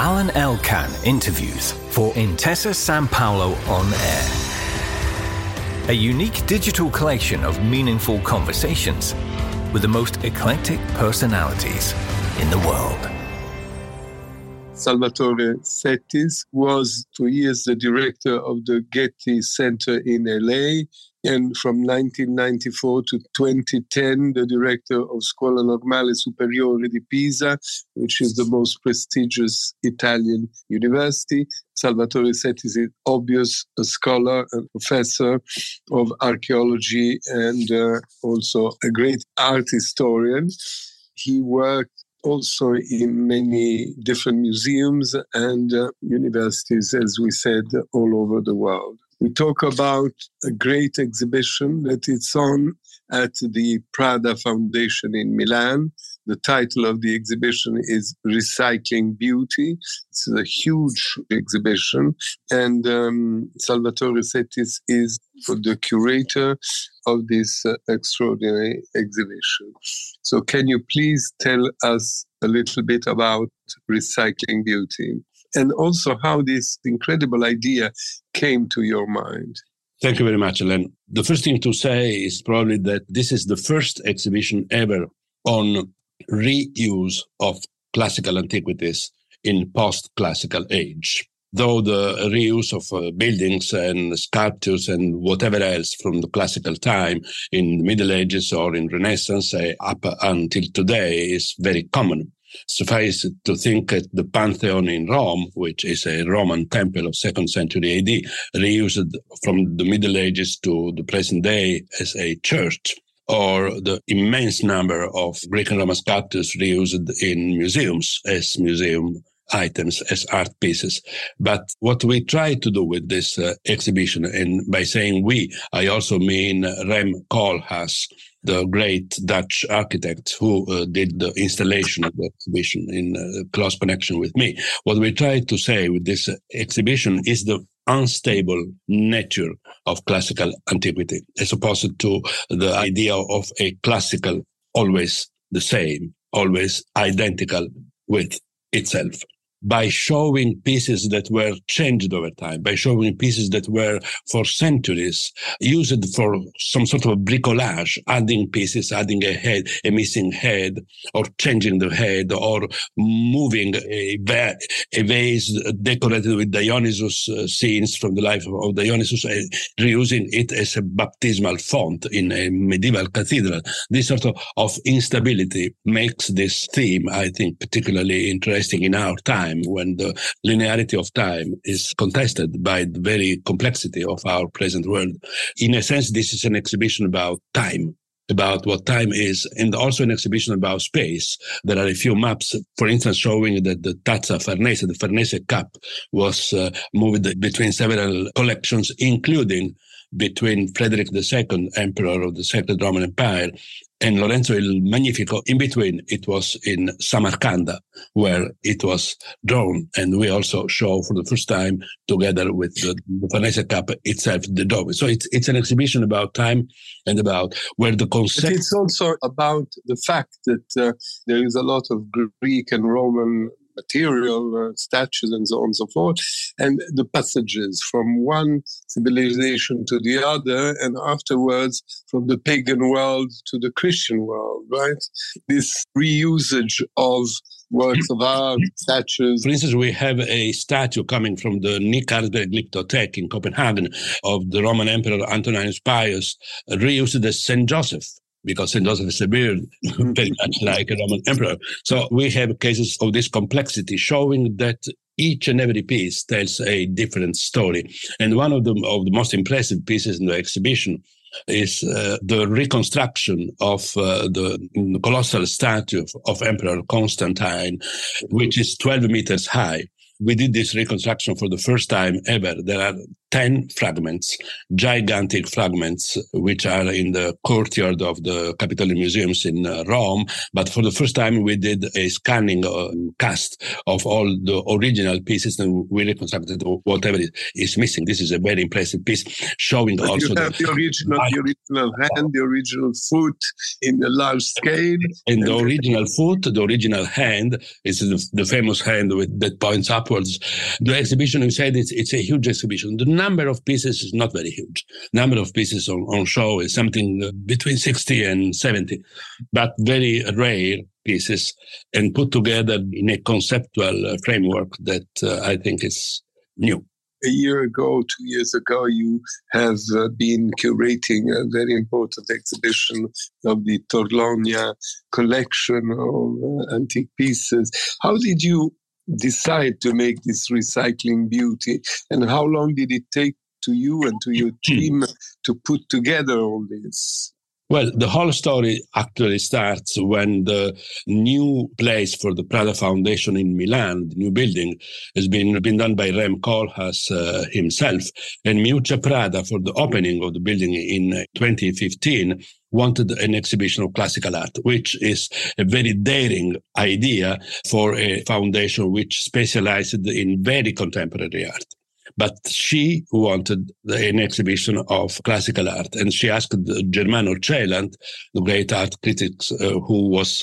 Alan Elkan interviews for Intesa Sanpaolo On Air. A unique digital collection of meaningful conversations with the most eclectic personalities in the world. Salvatore Settis was 2 years the director of the Getty Center in LA, and from 1994 to 2010, the director of Scuola Normale Superiore di Pisa, which is the most prestigious Italian university. Salvatore Settis is obviously a scholar and professor of archaeology and also a great art historian. He worked also in many different museums and universities, as we said, all over the world. We talk about a great exhibition that is on at the Prada Foundation in Milan. The title of the exhibition is Recycling Beauty. It's a huge exhibition, and Salvatore Settis is the curator of this extraordinary exhibition. So can you please tell us a little bit about Recycling Beauty and also how this incredible idea came to your mind? Thank you very much, Alan. The first thing to say is probably that this is the first exhibition ever on reuse of classical antiquities in post-classical age. Though the reuse of buildings and sculptures and whatever else from the classical time in the Middle Ages or in Renaissance up until today is very common. Suffice it to think that the Pantheon in Rome, which is a Roman temple of 2nd century AD, reused from the Middle Ages to the present day as a church, or the immense number of Greek and Roman sculptures reused in museums as museum items, as art pieces. But what we try to do with this exhibition, and by saying we, I also mean Rem Koolhaas, the great Dutch architect who did the installation of the exhibition in close connection with me. What we try to say with this exhibition is the unstable nature of classical antiquity, as opposed to the idea of a classical always the same, always identical with itself. By showing pieces that were changed over time, by showing pieces that were for centuries used for some sort of bricolage, adding pieces, adding a head, a missing head, or changing the head, or moving a vase decorated with Dionysus scenes from the life of Dionysus, reusing it as a baptismal font in a medieval cathedral. This sort of instability makes this theme, I think, particularly interesting in our time, when the linearity of time is contested by the very complexity of our present world. In a sense, this is an exhibition about time, about what time is, and also an exhibition about space. There are a few maps, for instance, showing that the Tazza Farnese, the Farnese cup, was moved between several collections, including between Frederick II, Emperor of the Sacred Roman Empire, and Lorenzo il Magnifico. In between, it was in Samarcanda, where it was drawn. And we also show for the first time, together with the Farnese cup itself, the dome. So it's an exhibition about time and about where the concept... But it's also about the fact that there is a lot of Greek and Roman material, statues and so on and so forth, and the passages from one civilization to the other, and afterwards from the pagan world to the Christian world, right? This reusage of works of art, statues. For instance, we have a statue coming from the Nick Carlsberg Glyptothek in Copenhagen of the Roman Emperor Antoninus Pius, reused as St. Joseph, because St. Joseph is a beard, very much like a Roman emperor. So we have cases of this complexity showing that each and every piece tells a different story. And one of the most impressive pieces in the exhibition is the reconstruction of the colossal statue of Emperor Constantine, which is 12 meters high. We did this reconstruction for the first time ever. There are 10 fragments, gigantic fragments, which are in the courtyard of the Capitolian Museums in Rome. But for the first time, we did a scanning cast of all the original pieces, and we reconstructed whatever is missing. This is a very impressive piece, showing but also you have the original hand, the original foot in a large scale. And the original foot, the original hand is the famous hand that points upwards. The exhibition, you said, it's a huge exhibition. The number of pieces is not very huge. Number of pieces on show is something between 60 and 70, but very rare pieces and put together in a conceptual framework that I think is new. A year ago, 2 years ago, you have been curating a very important exhibition of the Torlonia collection of antique pieces. How did you decide to make this recycling beauty, and how long did it take to you and to your team to put together all this? Well, the whole story actually starts when the new place for the Prada Foundation in Milan, the new building, has been done by Rem Koolhaas himself. And Miuccia Prada, for the opening of the building in 2015, wanted an exhibition of classical art, which is a very daring idea for a foundation which specialized in very contemporary art. But she wanted an exhibition of classical art, and she asked Germano Celant, the great art critic who was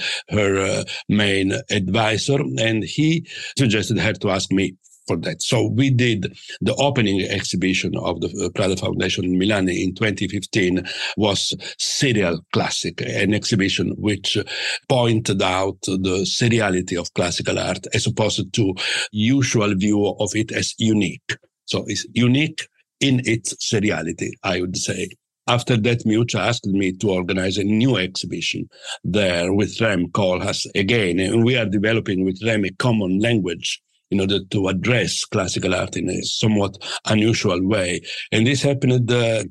her main advisor, and he suggested her to ask me for that. So we did the opening exhibition of the Prada Foundation in Milan in 2015 was Serial Classic, an exhibition which pointed out the seriality of classical art as opposed to usual view of it as unique. So it's unique in its seriality, I would say. After that, Miuccia asked me to organize a new exhibition there with Rem Koolhaas again, and we are developing with Rem a common language in order to address classical art in a somewhat unusual way. And this happened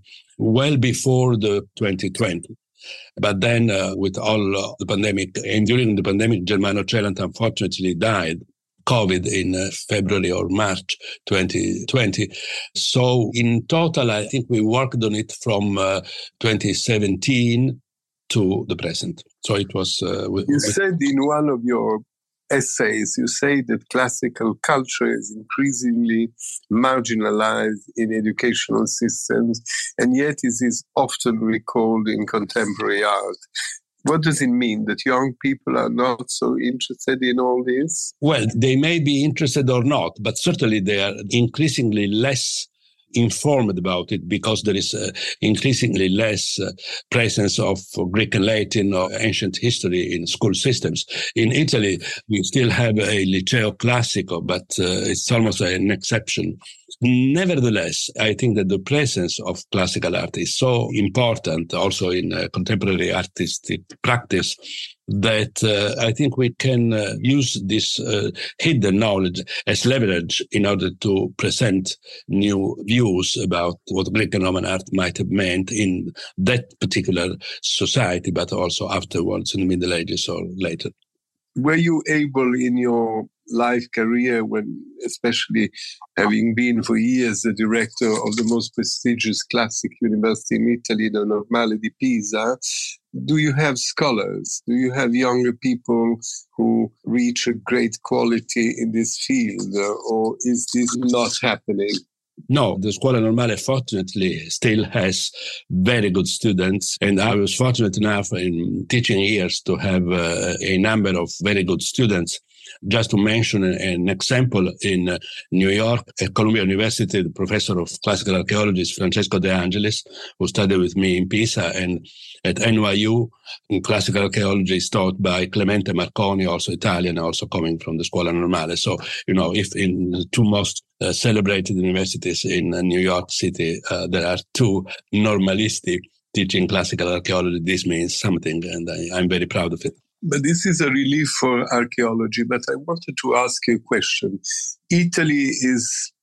well before the 2020. But then with all the pandemic, and during the pandemic, Germano Celant unfortunately died. COVID in February or March 2020. So in total, I think we worked on it from 2017 to the present. So it was... you said in one of your essays, you say that classical culture is increasingly marginalized in educational systems, and yet it is often recalled in contemporary art. What does it mean that young people are not so interested in all this? Well, they may be interested or not, but certainly they are increasingly less informed about it because there is increasingly less presence of Greek and Latin or ancient history in school systems. In Italy, we still have a Liceo Classico, but it's almost an exception. Nevertheless, I think that the presence of classical art is so important also in contemporary artistic practice that I think we can use this hidden knowledge as leverage in order to present new views about what Greek and Roman art might have meant in that particular society, but also afterwards in the Middle Ages or later. Were you able in your life career, when especially having been for years the director of the most prestigious classic university in Italy, the Normale di Pisa, do you have scholars? Do you have younger people who reach a great quality in this field, or is this not happening? No, the Scuola Normale, fortunately, still has very good students. And I was fortunate enough in teaching years to have a number of very good students. Just to mention an example, in New York, at Columbia University, the professor of classical archaeology is Francesco De Angelis, who studied with me in Pisa, and at NYU, classical archaeology is taught by Clemente Marconi, also Italian, also coming from the Scuola Normale. So, if in the two most celebrated universities in New York City, there are two normalisti teaching classical archaeology, this means something, and I'm very proud of it. But this is a relief for archaeology. But I wanted to ask you a question. Italy is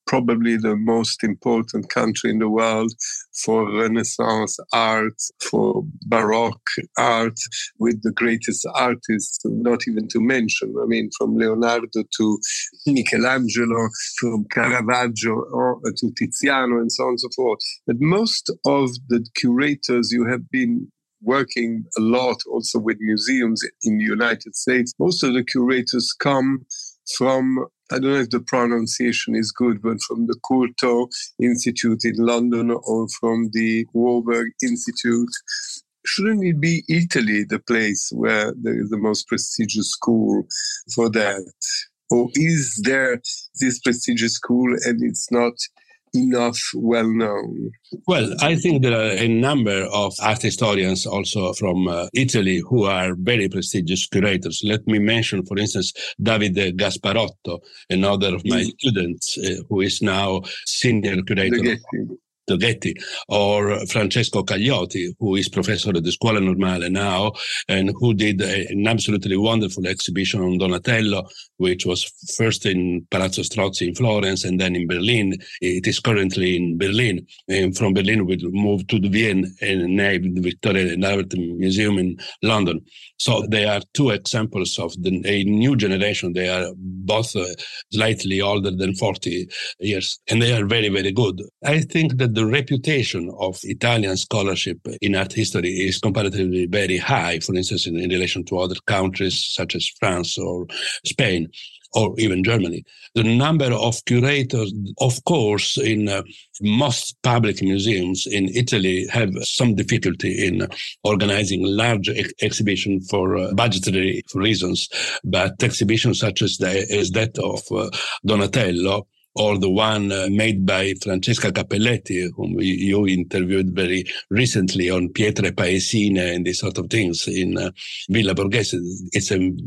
probably the most important country in the world for Renaissance art, for Baroque art, with the greatest artists, not even to mention. I mean, from Leonardo to Michelangelo, from Caravaggio to Tiziano, and so on and so forth. But most of the curators you have been working a lot also with museums in the United States, most of the curators come from, I don't know if the pronunciation is good, but from the Courtauld Institute in London or from the Warburg Institute. Shouldn't it be Italy the place where there is the most prestigious school for that? Or is there this prestigious school and it's not enough well known? Well, I think there are a number of art historians also from Italy who are very prestigious curators. Let me mention, for instance, Davide Gasparotto, another of my students who is now senior curator the Getty, or Francesco Cagliotti, who is professor at the Scuola Normale now, and who did an absolutely wonderful exhibition on Donatello, which was first in Palazzo Strozzi in Florence and then in Berlin. It is currently in Berlin. And from Berlin, we moved to the Vienna and named the Victoria and Albert Museum in London. So they are two examples of a new generation. They are both slightly older than 40 years, and they are very, very good. I think that the reputation of Italian scholarship in art history is comparatively very high, for instance, in relation to other countries such as France or Spain, or even Germany. The number of curators, of course, in most public museums in Italy have some difficulty in organizing large exhibitions for budgetary reasons, but exhibitions such as that of Donatello, or the one made by Francesca Cappelletti, whom you interviewed very recently on Pietre Paesine and these sort of things in Villa Borghese. It's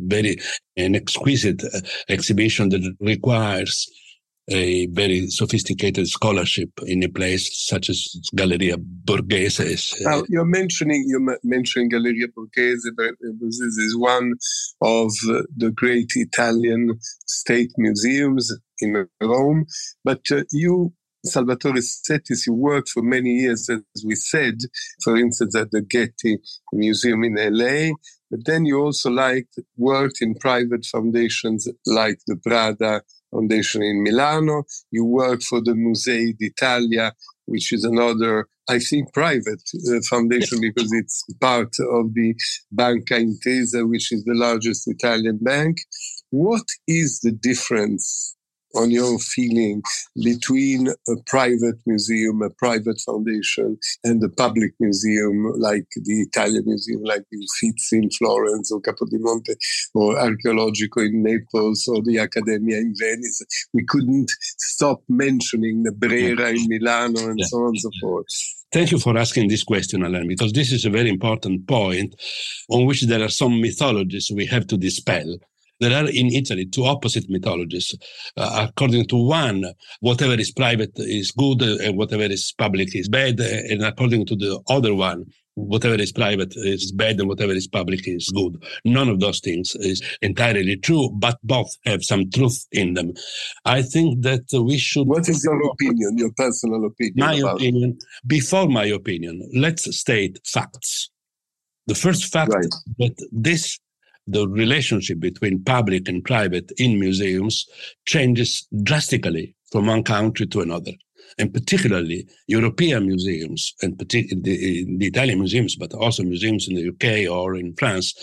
an exquisite exhibition that requires a very sophisticated scholarship in a place such as Galleria Borghese. Now, you're mentioning Galleria Borghese, but this is one of the great Italian state museums in Rome. But you, Salvatore Settis, you worked for many years, as we said, for instance, at the Getty Museum in LA. But then you also worked in private foundations like the Prada Foundation in Milano. You work for the Musei d'Italia, which is another, I think, private foundation because it's part of the Banca Intesa, which is the largest Italian bank. What is the difference, on your feeling, between a private museum, a private foundation, and a public museum like the Italian Museum, like the Uffizi in Florence or Capodimonte, or Archeologico in Naples, or the Accademia in Venice? We couldn't stop mentioning the Brera in Milano and so on and so forth. Thank you for asking this question, Alain, because this is a very important point on which there are some mythologies we have to dispel. There are in Italy two opposite mythologies. According to one, whatever is private is good and whatever is public is bad. And according to the other one, whatever is private is bad and whatever is public is good. None of those things is entirely true, but both have some truth in them. I think that we should... What is your opinion, your personal opinion? My opinion, before my opinion, let's state facts. The first fact that the relationship between public and private in museums changes drastically from one country to another. And particularly European museums, and particularly the Italian museums, but also museums in the UK or in France,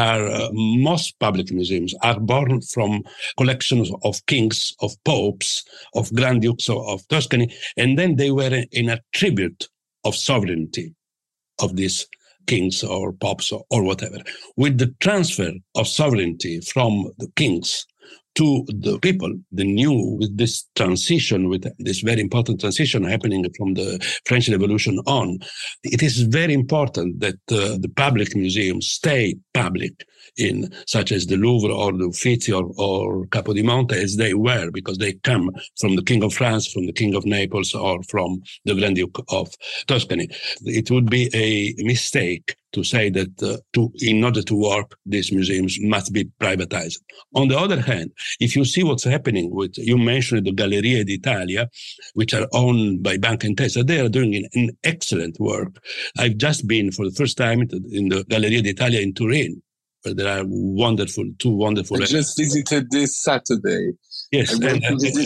most public museums are born from collections of kings, of popes, of Grand Dukes of Tuscany, and then they were an attribute of sovereignty of these kings or popes or whatever. With the transfer of sovereignty from the kings to the people, with this transition, with this very important transition happening from the French Revolution on, it is very important that the public museums stay public, in such as the Louvre or the Uffizi or Capodimonte, as they were, because they come from the King of France, from the King of Naples, or from the Grand Duke of Tuscany. It would be a mistake to say that in order to work, these museums must be privatized. On the other hand, if you see what's happening with, you mentioned the Gallerie d'Italia, which are owned by Banca Intesa, they are doing an excellent work. I've just been for the first time in the Galleria d'Italia in Turin, where there are two wonderful. I just visited this Saturday. Yes, and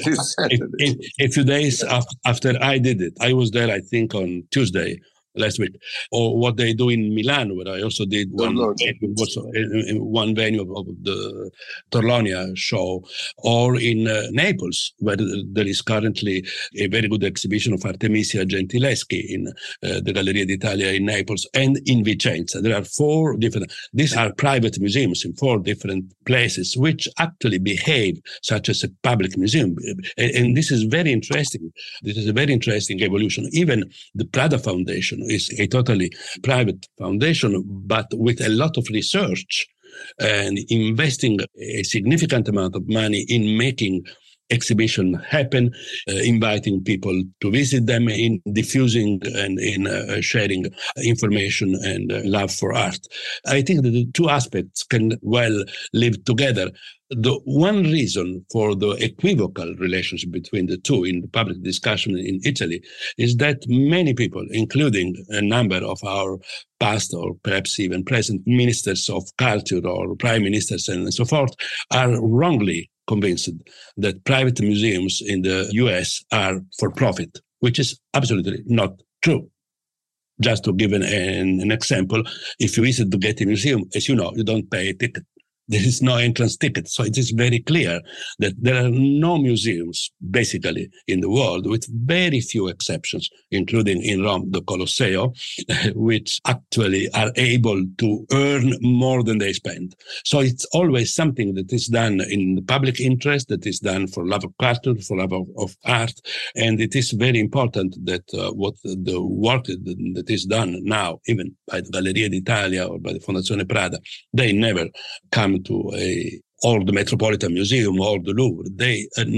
a few days after I did it, I was there, I think, on Tuesday last week. Or what they do in Milan, where I also did one venue of the Torlonia show, or in Naples, where there is currently a very good exhibition of Artemisia Gentileschi in the Galleria d'Italia in Naples, and in Vicenza. There are four different, these are private museums in four different places, which actually behave such as a public museum. And this is very interesting. This is a very interesting evolution. Even the Prada Foundation is a totally private foundation, but with a lot of research and investing a significant amount of money in making exhibition happen, inviting people to visit them, in diffusing and in sharing information and love for art. I think that the two aspects can well live together. The one reason for the equivocal relationship between the two in the public discussion in Italy is that many people, including a number of our past or perhaps even present ministers of culture or prime ministers and so forth, are wrongly convinced that private museums in the US are for profit, which is absolutely not true. Just to give an example, if you visit the Getty Museum, as you know, you don't pay a ticket. There is no entrance ticket. So it is very clear that there are no museums, basically, in the world, with very few exceptions, including in Rome, the Colosseo, which actually are able to earn more than they spend. So it's always something that is done in the public interest, that is done for love of culture, for love of art. And it is very important that what the work that is done now, even by the Galleria d'Italia or by the Fondazione Prada, they never come to or the Metropolitan Museum or the Louvre. There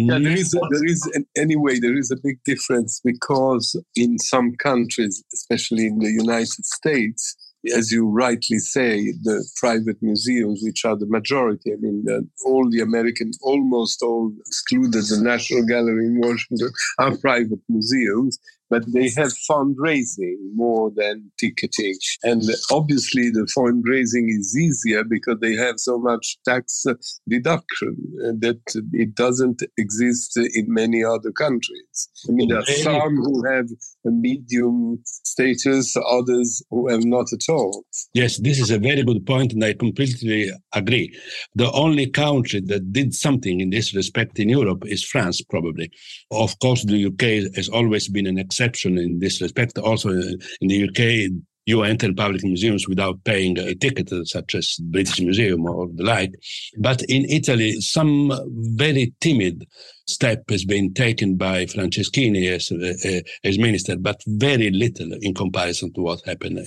is a big difference, because in some countries, especially in the United States, as you rightly say, the private museums, which are the majority, I mean, all the American, almost all excluded the National Gallery in Washington, are private museums, but they have fundraising more than ticketing. And obviously the fundraising is easier because they have so much tax deduction that it doesn't exist in many other countries. I mean, there are some who have a medium status, others who have not at all. Yes, this is a very good point, and I completely agree. The only country that did something in this respect in Europe is France, probably. Of course, the UK has always been an exception in this respect. Also, in the UK, you enter public museums without paying a ticket, such as British Museum or the like. But in Italy, some very timid step has been taken by Franceschini as minister, but very little in comparison to what happened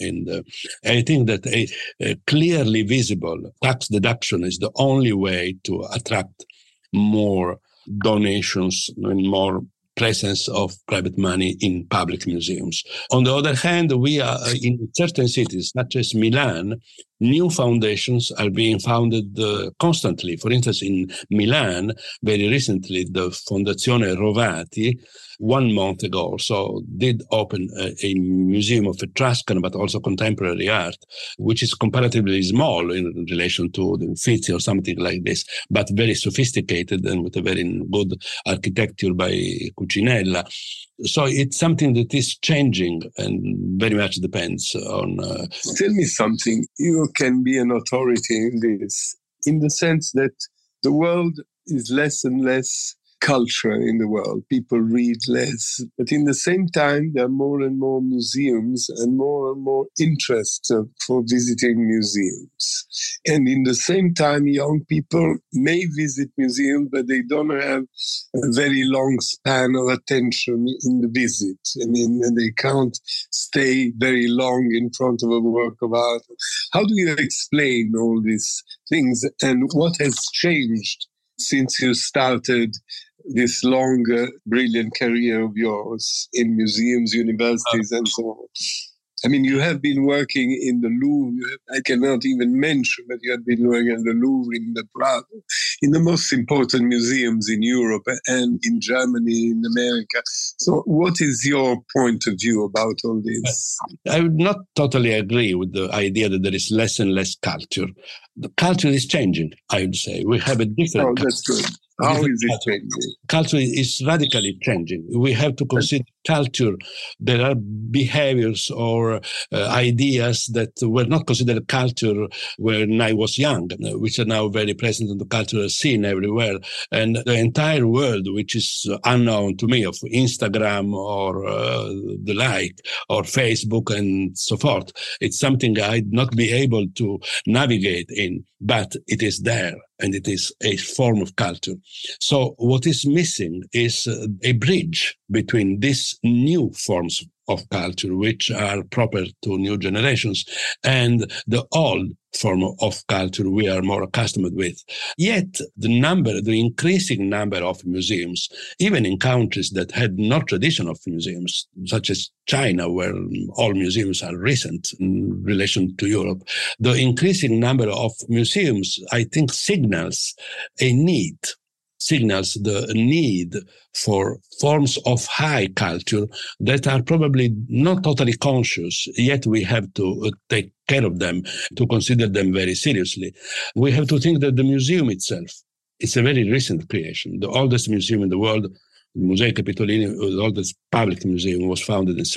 I think that a clearly visible tax deduction is the only way to attract more donations and more presence of private money in public museums. On the other hand, we are in certain cities, such as Milan, new foundations are being founded constantly. For instance, in Milan, very recently, the Fondazione Rovati, 1 month ago or so, did open a museum of Etruscan, but also contemporary art, which is comparatively small in relation to the Uffizi or something like this, but very sophisticated and with a very good architecture by Cucinella. So it's something that is changing and very much depends on... Tell me something. You can be an authority in this, in the sense that the world is less and less culture in the world. People read less. But in the same time, there are more and more museums and more interest for visiting museums. And in the same time, young people may visit museums, but they don't have a very long span of attention in the visit. I mean, they can't stay very long in front of a work of art. How do you explain all these things, and what has changed since you started this long, brilliant career of yours in museums, universities, and so on? I mean, you have been working in the Louvre. I cannot even mention that you have been working in the Louvre, in the Prado, in the most important museums in Europe and in Germany, in America. So what is your point of view about all this? I would not totally agree with the idea that there is less and less culture. The culture is changing, I would say. We have a different culture. That's good. How is it changing? Culture is radically changing. We have to consider culture. There are behaviors or ideas that were not considered culture when I was young, which are now very present in the cultural scene everywhere. And the entire world, which is unknown to me, of Instagram or the like, or Facebook and so forth, it's something I'd not be able to navigate in, but it is there. And it is a form of culture. So what is missing is a bridge between these new forms of culture, which are proper to new generations, and the old form of culture we are more accustomed with. Yet the increasing number of museums, even in countries that had no tradition of museums, such as China, where all museums are recent in relation to Europe, the increasing number of museums, I think, signals the need for forms of high culture that are probably not totally conscious, yet we have to take care of them, to consider them very seriously. We have to think that the museum itself is a very recent creation. The oldest museum in the world, the Museo Capitolini, the oldest public museum, was founded in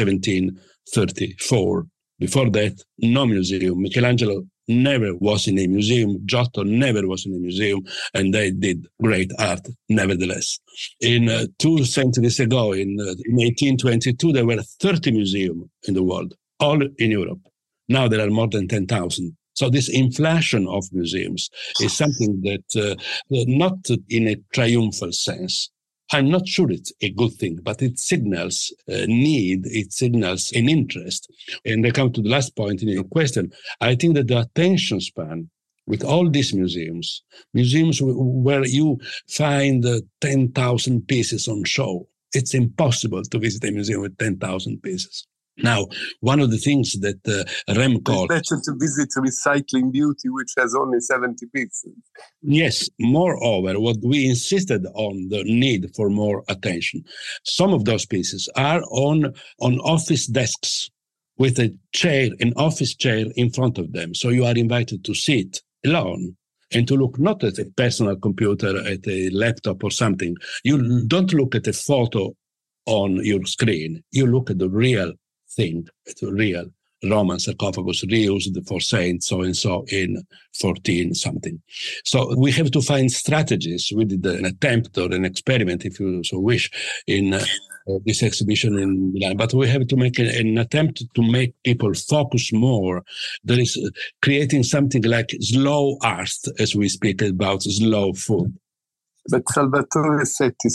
1734. Before that, no museum. Michelangelo never was in a museum. Giotto never was in a museum, and they did great art nevertheless. In 2 centuries ago, in 1822, there were 30 museums in the world, all in Europe. Now there are more than 10,000. So this inflation of museums is something that, not in a triumphal sense, I'm not sure it's a good thing, but it signals need, it signals an interest. And I come to the last point in your question. I think that the attention span with all these museums where you find 10,000 pieces on show, it's impossible to visit a museum with 10,000 pieces. Now, one of the things that Rem called... It's better to visit Recycling Beauty, which has only 70 pieces. Yes. Moreover, what we insisted on, the need for more attention. Some of those pieces are on office desks with an office chair in front of them. So you are invited to sit alone and to look not at a personal computer, at a laptop or something. You don't look at a photo on your screen. You look at the real thing, it's a real Roman sarcophagus reused for Saint so-and-so in 14 something. So we have to find strategies. We did an attempt or an experiment, if you so wish, in this exhibition in Milan. But we have to make an attempt to make people focus more. There is creating something like slow art, as we speak about slow food. But Salvatore Settis,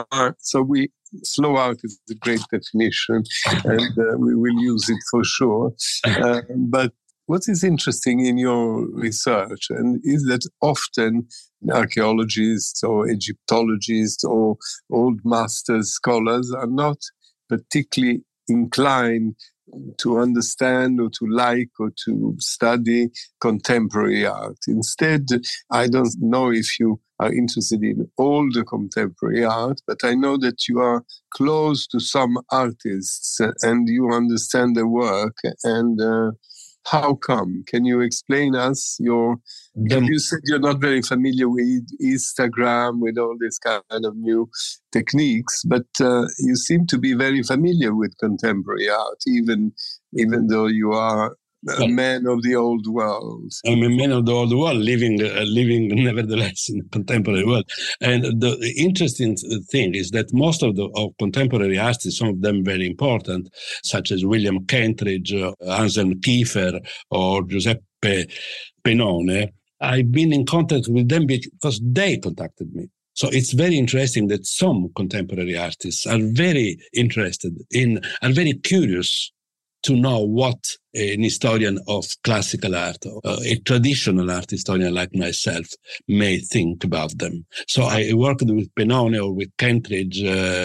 slow art is a great definition, and we will use it for sure. But what is interesting in your research is that often archaeologists or Egyptologists or old masters, scholars are not particularly inclined to understand or to like or to study contemporary art. Instead, I don't know if you are interested in all the contemporary art, but I know that you are close to some artists and you understand their work. And how come? Can you explain us you said you're not very familiar with Instagram, with all this kind of new techniques, but you seem to be very familiar with contemporary art, even though you are a man of the old world. I'm a man of the old world, living nevertheless in the contemporary world. And the interesting thing is that most of contemporary artists, some of them very important, such as William Kentridge, Anselm Kiefer, or Giuseppe Pennone, I've been in contact with them because they contacted me. So it's very interesting that some contemporary artists are very interested are very curious to know what an historian of classical art, a traditional art historian like myself may think about them. So I worked with Pennone or with Kentridge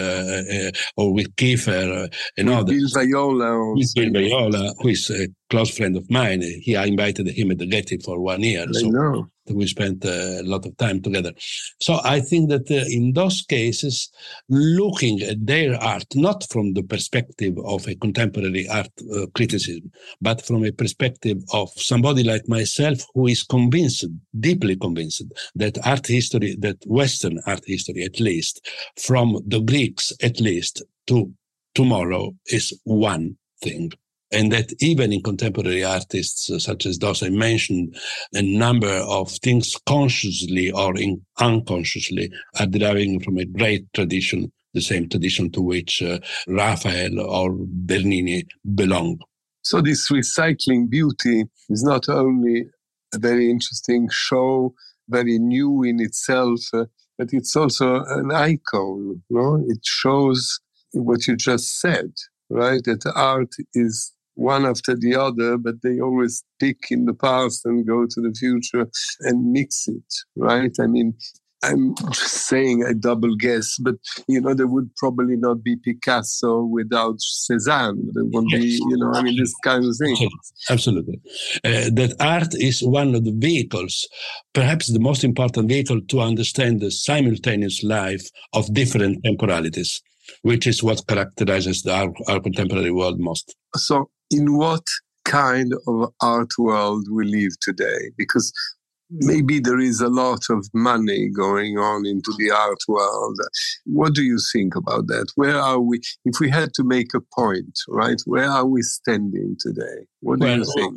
or with Kiefer and others. Bill Viola. With Bill Viola, who is a close friend of mine. I invited him at the Getty for 1 year. I know. We spent a lot of time together. So I think that in those cases, looking at their art, not from the perspective of a contemporary art criticism, but from a perspective of somebody like myself who is convinced, deeply convinced, that art history, that Western art history at least, from the Greeks at least to tomorrow is one thing. And that even in contemporary artists, such as those I mentioned, a number of things consciously or unconsciously are deriving from a great tradition, the same tradition to which Raphael or Bernini belong. So this recycling beauty is not only a very interesting show, very new in itself, but it's also an icon. No? It shows what you just said, right? That art is one after the other, but they always pick in the past and go to the future and mix it, right? I mean, I'm just saying I double guess, but, there would probably not be Picasso without Cézanne. There won't be, this kind of thing. Absolutely. That art is one of the vehicles, perhaps the most important vehicle to understand the simultaneous life of different temporalities, which is what characterizes our contemporary world most. So in what kind of art world we live today? Because maybe there is a lot of money going on into the art world. What do you think about that? Where are we? If we had to make a point, right? Where are we standing today? What do you think?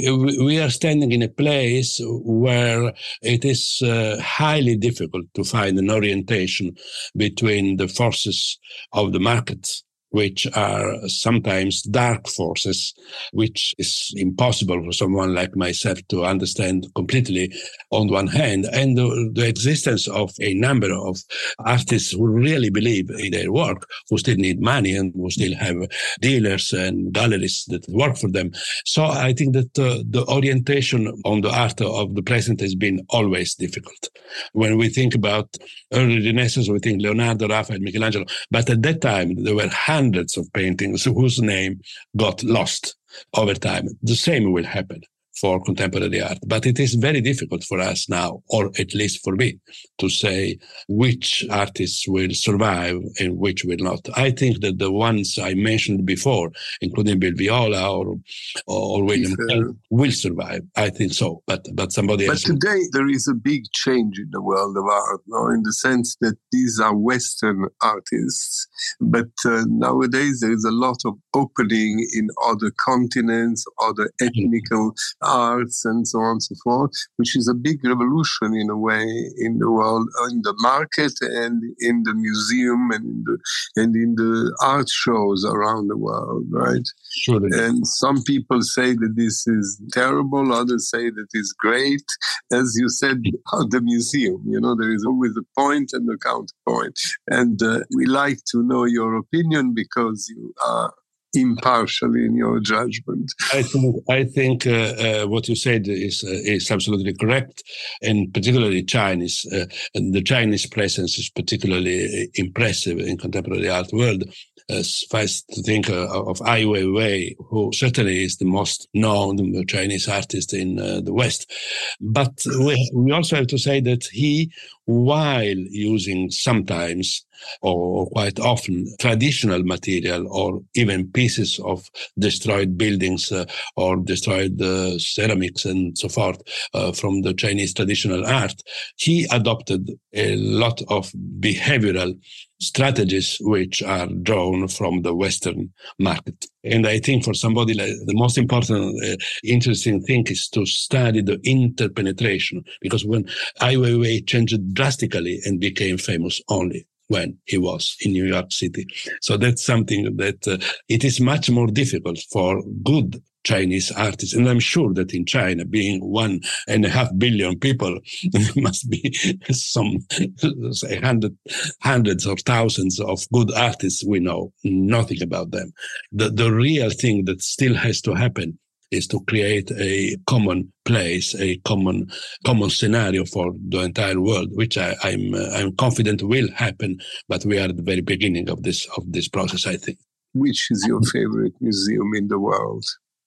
We are standing in a place where it is highly difficult to find an orientation between the forces of the markets, which are sometimes dark forces, which is impossible for someone like myself to understand completely on one hand, and the existence of a number of artists who really believe in their work, who still need money and who still have dealers and galleries that work for them. So I think that the orientation on the art of the present has been always difficult. When we think about early Renaissance, we think Leonardo, Raphael, Michelangelo, but at that time there were hundreds of paintings whose name got lost over time. The same will happen for contemporary art. But it is very difficult for us now, or at least for me, to say which artists will survive and which will not. I think that the ones I mentioned before, including Bill Viola or William Kent, will survive. I think so. But somebody else. But today there is a big change in the world of art, no? In the sense that these are Western artists. But nowadays there is a lot of opening in other continents, other ethnical arts and so on and so forth, which is a big revolution in a way in the world, in the market and in the museum and in the art shows around the world, right? Sure. And some people say that this is terrible, others say that it's great. As you said, the museum, there is always a point and a counterpoint. And we like to know your opinion because you are impartial in your judgment. I think what you said is absolutely correct, and particularly Chinese. And the Chinese presence is particularly impressive in contemporary art world. Suffice to think of Ai Weiwei, who certainly is the most known Chinese artist in the West. But we also have to say that he, while using sometimes or quite often traditional material or even pieces of destroyed buildings or destroyed ceramics and so forth from the Chinese traditional art, he adopted a lot of behavioral strategies which are drawn from the Western market. And I think for somebody like the most important, interesting thing is to study the interpenetration, because when Ai Weiwei changed drastically and became famous only when he was in New York City. So that's something that it is much more difficult for good Chinese artists. And I'm sure that in China, being 1.5 billion people, there must be some hundreds or thousands of good artists. We know nothing about them. The real thing that still has to happen is to create a common place, a common scenario for the entire world, which I'm confident will happen. But we are at the very beginning of this process, I think. Which is your favorite museum in the world?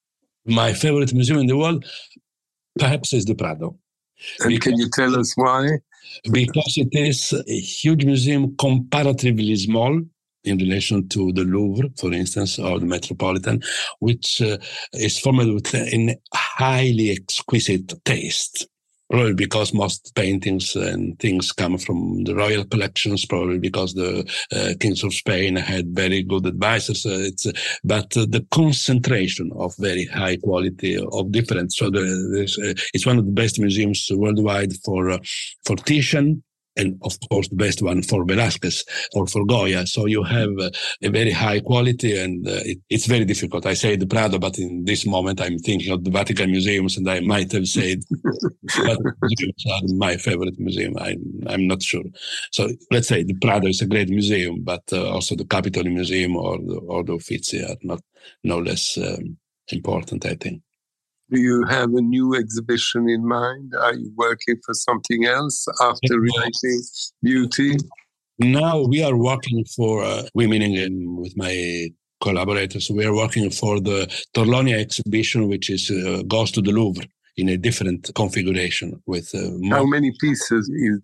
My favorite museum in the world, perhaps, is the Prado. And can you tell us why? Because it is a huge museum, comparatively small in relation to the Louvre, for instance, or the Metropolitan, which is formed with a highly exquisite taste. Probably because most paintings and things come from the royal collections, probably because the kings of Spain had very good advisors. But the concentration of very high quality of different. So it's one of the best museums worldwide for Titian, and of course the best one for Velázquez or for Goya. So you have a very high quality, and it's very difficult. I say the Prado, but in this moment I'm thinking of the Vatican museums, and I might have said Vatican museums are my favorite museum. I'm not sure. So let's say the Prado is a great museum, but also the Capitol Museum or the Uffizi are not no less important, I think. Do you have a new exhibition in mind? Are you working for something else after Rewriting Beauty? Now we are working for, meaning with my collaborators, we are working for the Torlonia exhibition, which goes to the Louvre in a different configuration. With how many pieces is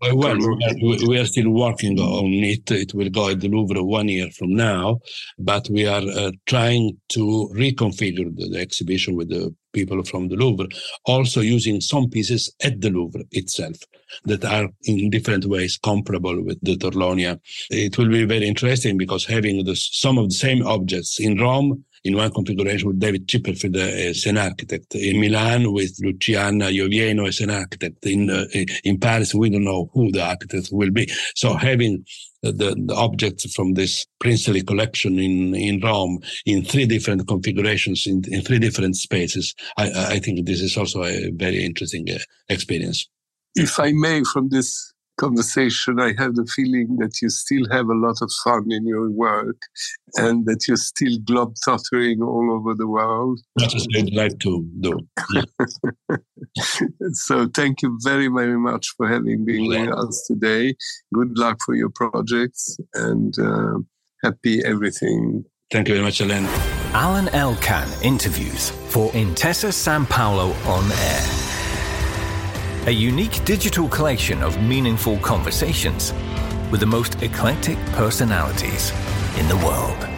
the? We are still working on it. It will go at the Louvre 1 year from now, but we are trying to reconfigure the exhibition with the people from the Louvre, also using some pieces at the Louvre itself that are in different ways comparable with the Torlonia. It will be very interesting because having some of the same objects in Rome in one configuration with David Chipperfield as an architect, in Milan with Luciana Iovieno as an architect, in Paris we don't know who the architect will be. So having the objects from this princely collection in Rome in 3 different configurations, in 3 different spaces, I think this is also a very interesting experience. If I may, from this conversation, I have the feeling that you still have a lot of fun in your work and that you're still globe-tottering all over the world. That's what I'd like to do. Yeah. So thank you very, very much for having been with us today. Good luck for your projects and happy everything. Thank you very much, Alain. Alan Elkann interviews for Intesa Sanpaolo On Air. A unique digital collection of meaningful conversations with the most eclectic personalities in the world.